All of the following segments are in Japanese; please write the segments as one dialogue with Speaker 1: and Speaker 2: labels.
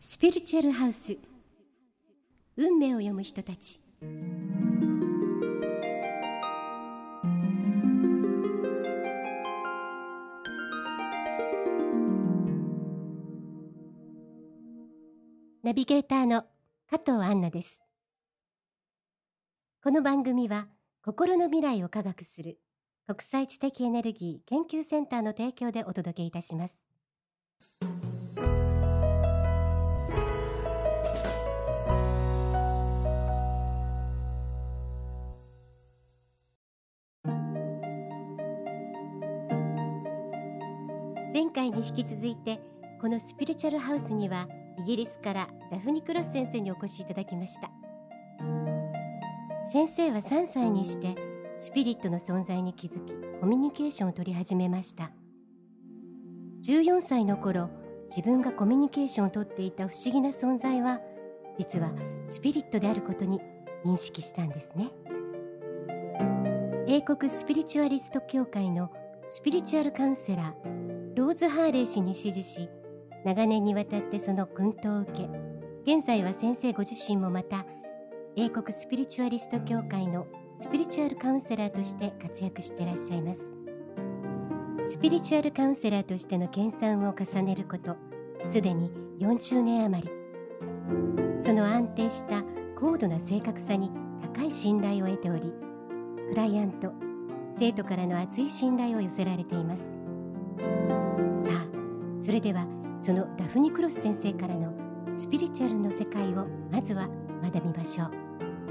Speaker 1: スピリチュアルハウス、運命を読む人たち。ナビゲーターの加藤杏奈です。この番組は心の未来を科学する国際知的エネルギー研究センターの提供でお届けいたします。前回に引き続いて、このスピリチュアルハウスにはイギリスからダフニ・クロス先生にお越しいただきました。先生は3歳にしてスピリットの存在に気づき、コミュニケーションを取り始めました。14歳の頃、自分がコミュニケーションをとっていた不思議な存在は、実はスピリットであることに認識したんですね。英国スピリチュアリスト協会のスピリチュアルカウンセラーローズ・ハーレー氏に師事し、長年にわたってその薫陶を受け、現在は先生ご自身もまた英国スピリチュアリスト協会のスピリチュアルカウンセラーとして活躍していらっしゃいます。スピリチュアルカウンセラーとしての研鑽を重ねること、すでに40年余り。その安定した高度な正確さに高い信頼を得ており、クライアント、生徒からの厚い信頼を寄せられています。さあ、それではそのダフニ・クロス先生からのスピリチュアルの世界をまずは学びましょう。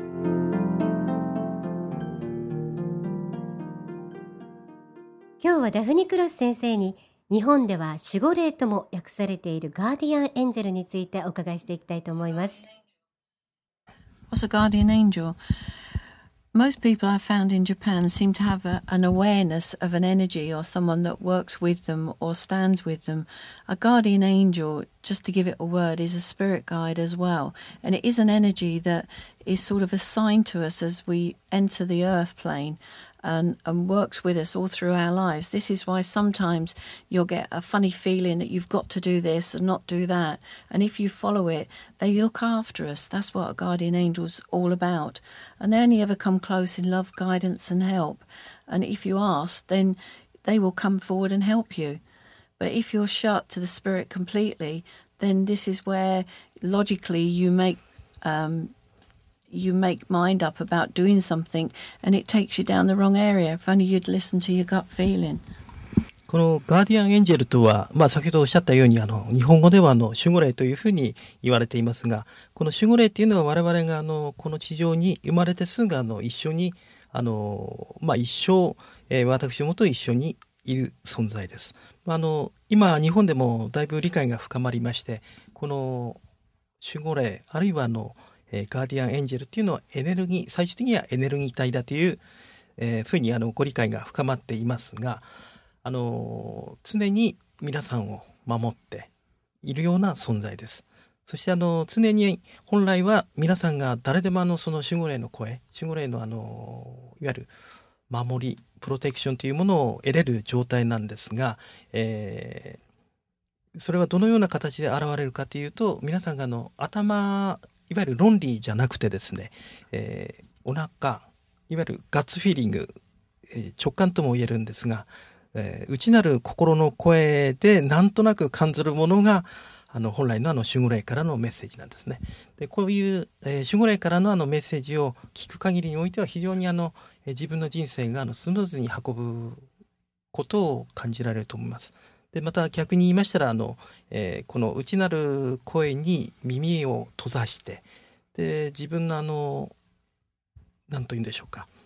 Speaker 1: 今日はダフニ・クロス先生に、日本では守護霊とも訳されているガーディアンエンジェルについてお伺いしていきたいと思います。
Speaker 2: What's a guardian angel?Most people I've found in Japan seem to have an awareness of an energy or someone that works with them or stands with them. A guardian angel, just to give it a word, is a spirit guide as well. And it is an energy that is sort of assigned to us as we enter the earth plane and works with us all through our lives. This is why sometimes you'll get a funny feeling that you've got to do this and not do that. And if you follow it, they look after us. That's what a guardian angel's all about. And they only ever come close in love, guidance and help. And if you ask, then they will come forward and help you. But if you're shut to the spirit completely, then this is where logically you make mind up about doing something and it takes you down the wrong area. If only you'd listen to your gut feeling.
Speaker 3: このガーディアンエンジェルとは、先ほどおっしゃったように日本語では守護霊というふうに言われていますが、この守護霊っていうのは我々がこの地上に生まれてすぐ一緒に一生、私どもと一緒にいる存在です。今日本でもだいぶ理解が深まりまして、この守護霊あるいはガーディアンエンジェルっていうのはエネルギー、最終的にはエネルギー体だという、ふうにご理解が深まっていますが、常に皆さんを守っているような存在です。そして常に本来は皆さんが誰でもその守護霊の声、守護霊のいわゆる守り、プロテクションというものを得れる状態なんですが、それはどのような形で現れるかというと、皆さんがいわゆる論理じゃなくてですね、お腹、いわゆるガッツフィーリング、直感とも言えるんですが、内なる心の声でなんとなく感じるものが本来の守護霊からのメッセージなんですね。でこういう、守護霊からのメッセージを聞く限りにおいては、非常に自分の人生がスムーズに運ぶことを感じられると思います。でまた逆に言いましたらこの内なる声に耳を閉ざして、で自分の何と言うんでしょうか、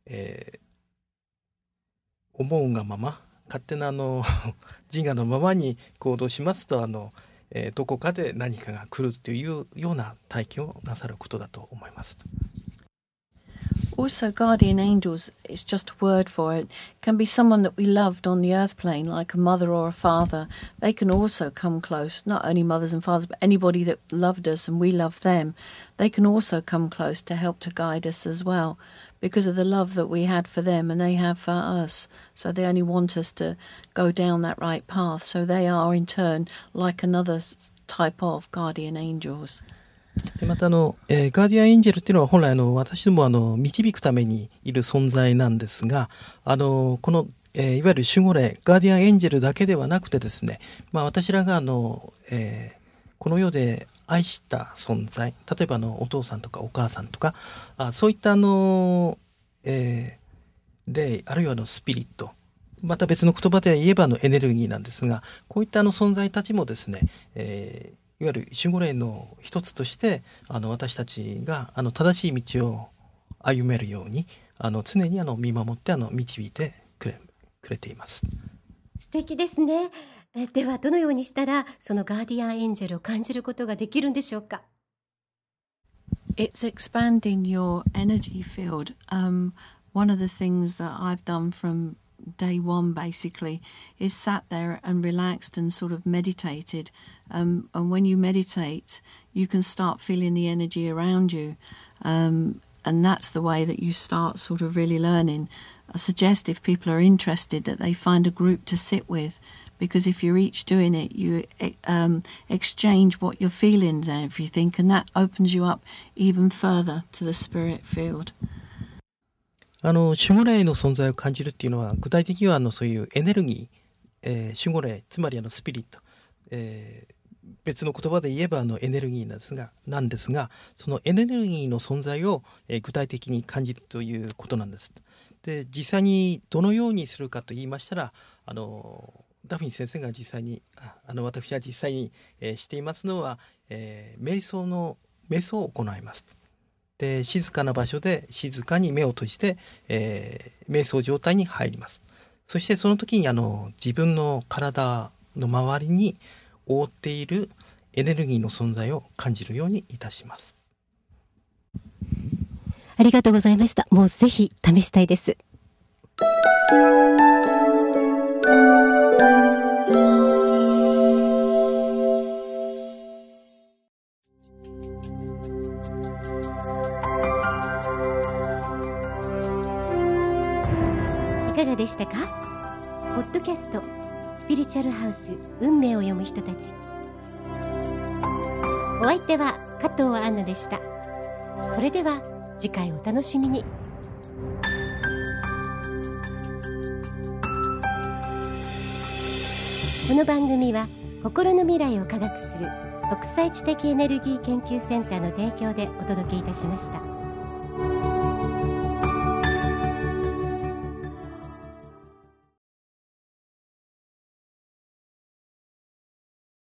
Speaker 3: 思うがまま勝手な自我のままに行動しますとどこかで何かが来るというような体験をなさることだと思います。
Speaker 2: Also, guardian angels, it's just a word for it, can be someone that we loved on the earth plane, like a mother or a father. They can also come close, not only mothers and fathers, but anybody that loved us and we loved them. They can also come close to help to guide us as well, because of the love that we had for them and they have for us. So they only want us to go down that right path. So they are in turn like another type of guardian angels.
Speaker 3: でまたガーディアンエンジェルっていうのは本来私ども導くためにいる存在なんですが、この、いわゆる守護霊ガーディアンエンジェルだけではなくてですね、私らがこの世で愛した存在、例えばお父さんとかお母さんとかそういった霊あるいはスピリット、また別の言葉で言えばエネルギーなんですが、こういった存在たちもですね、いわゆる守護霊の一つとして私たちが正しい道を歩めるように常に見守って導いてくれています。
Speaker 1: 素敵ですね。ではどのようにしたらそのガーディアンエンジェルを感じることができるんでしょうか。
Speaker 2: It's expanding your energy field. One of the things that I've done from day one basically is sat there and relaxed and sort of meditated, and when you meditate you can start feeling the energy around you, and that's the way that you start sort of really learning. I suggest if people are interested that they find a group to sit with, because if you're each doing it you exchange what you're feeling and everything, and that opens you up even further to the spirit field.
Speaker 3: 守護霊の存在を感じるっていうのは具体的にはそういうエネルギー、守護霊つまりスピリット、別の言葉で言えばエネルギーなんですがそのエネルギーの存在を、具体的に感じるということなんです。で実際にどのようにするかと言いましたらダフニ先生が実際に私が実際に、していますのは、瞑想を行います。で静かな場所で静かに目を閉じて、瞑想状態に入ります。そしてその時に自分の体の周りに覆っているエネルギーの存在を感じるようにいたします。
Speaker 1: ありがとうございました。もうぜひ試したいです。いかがでしたか？ポッドキャストスピリチュアルハウス運命を読む人たち。お相手は加藤杏奈でした。それでは次回お楽しみに。この番組は心の未来を科学する国際知的エネルギー研究センターの提供でお届けいたしました。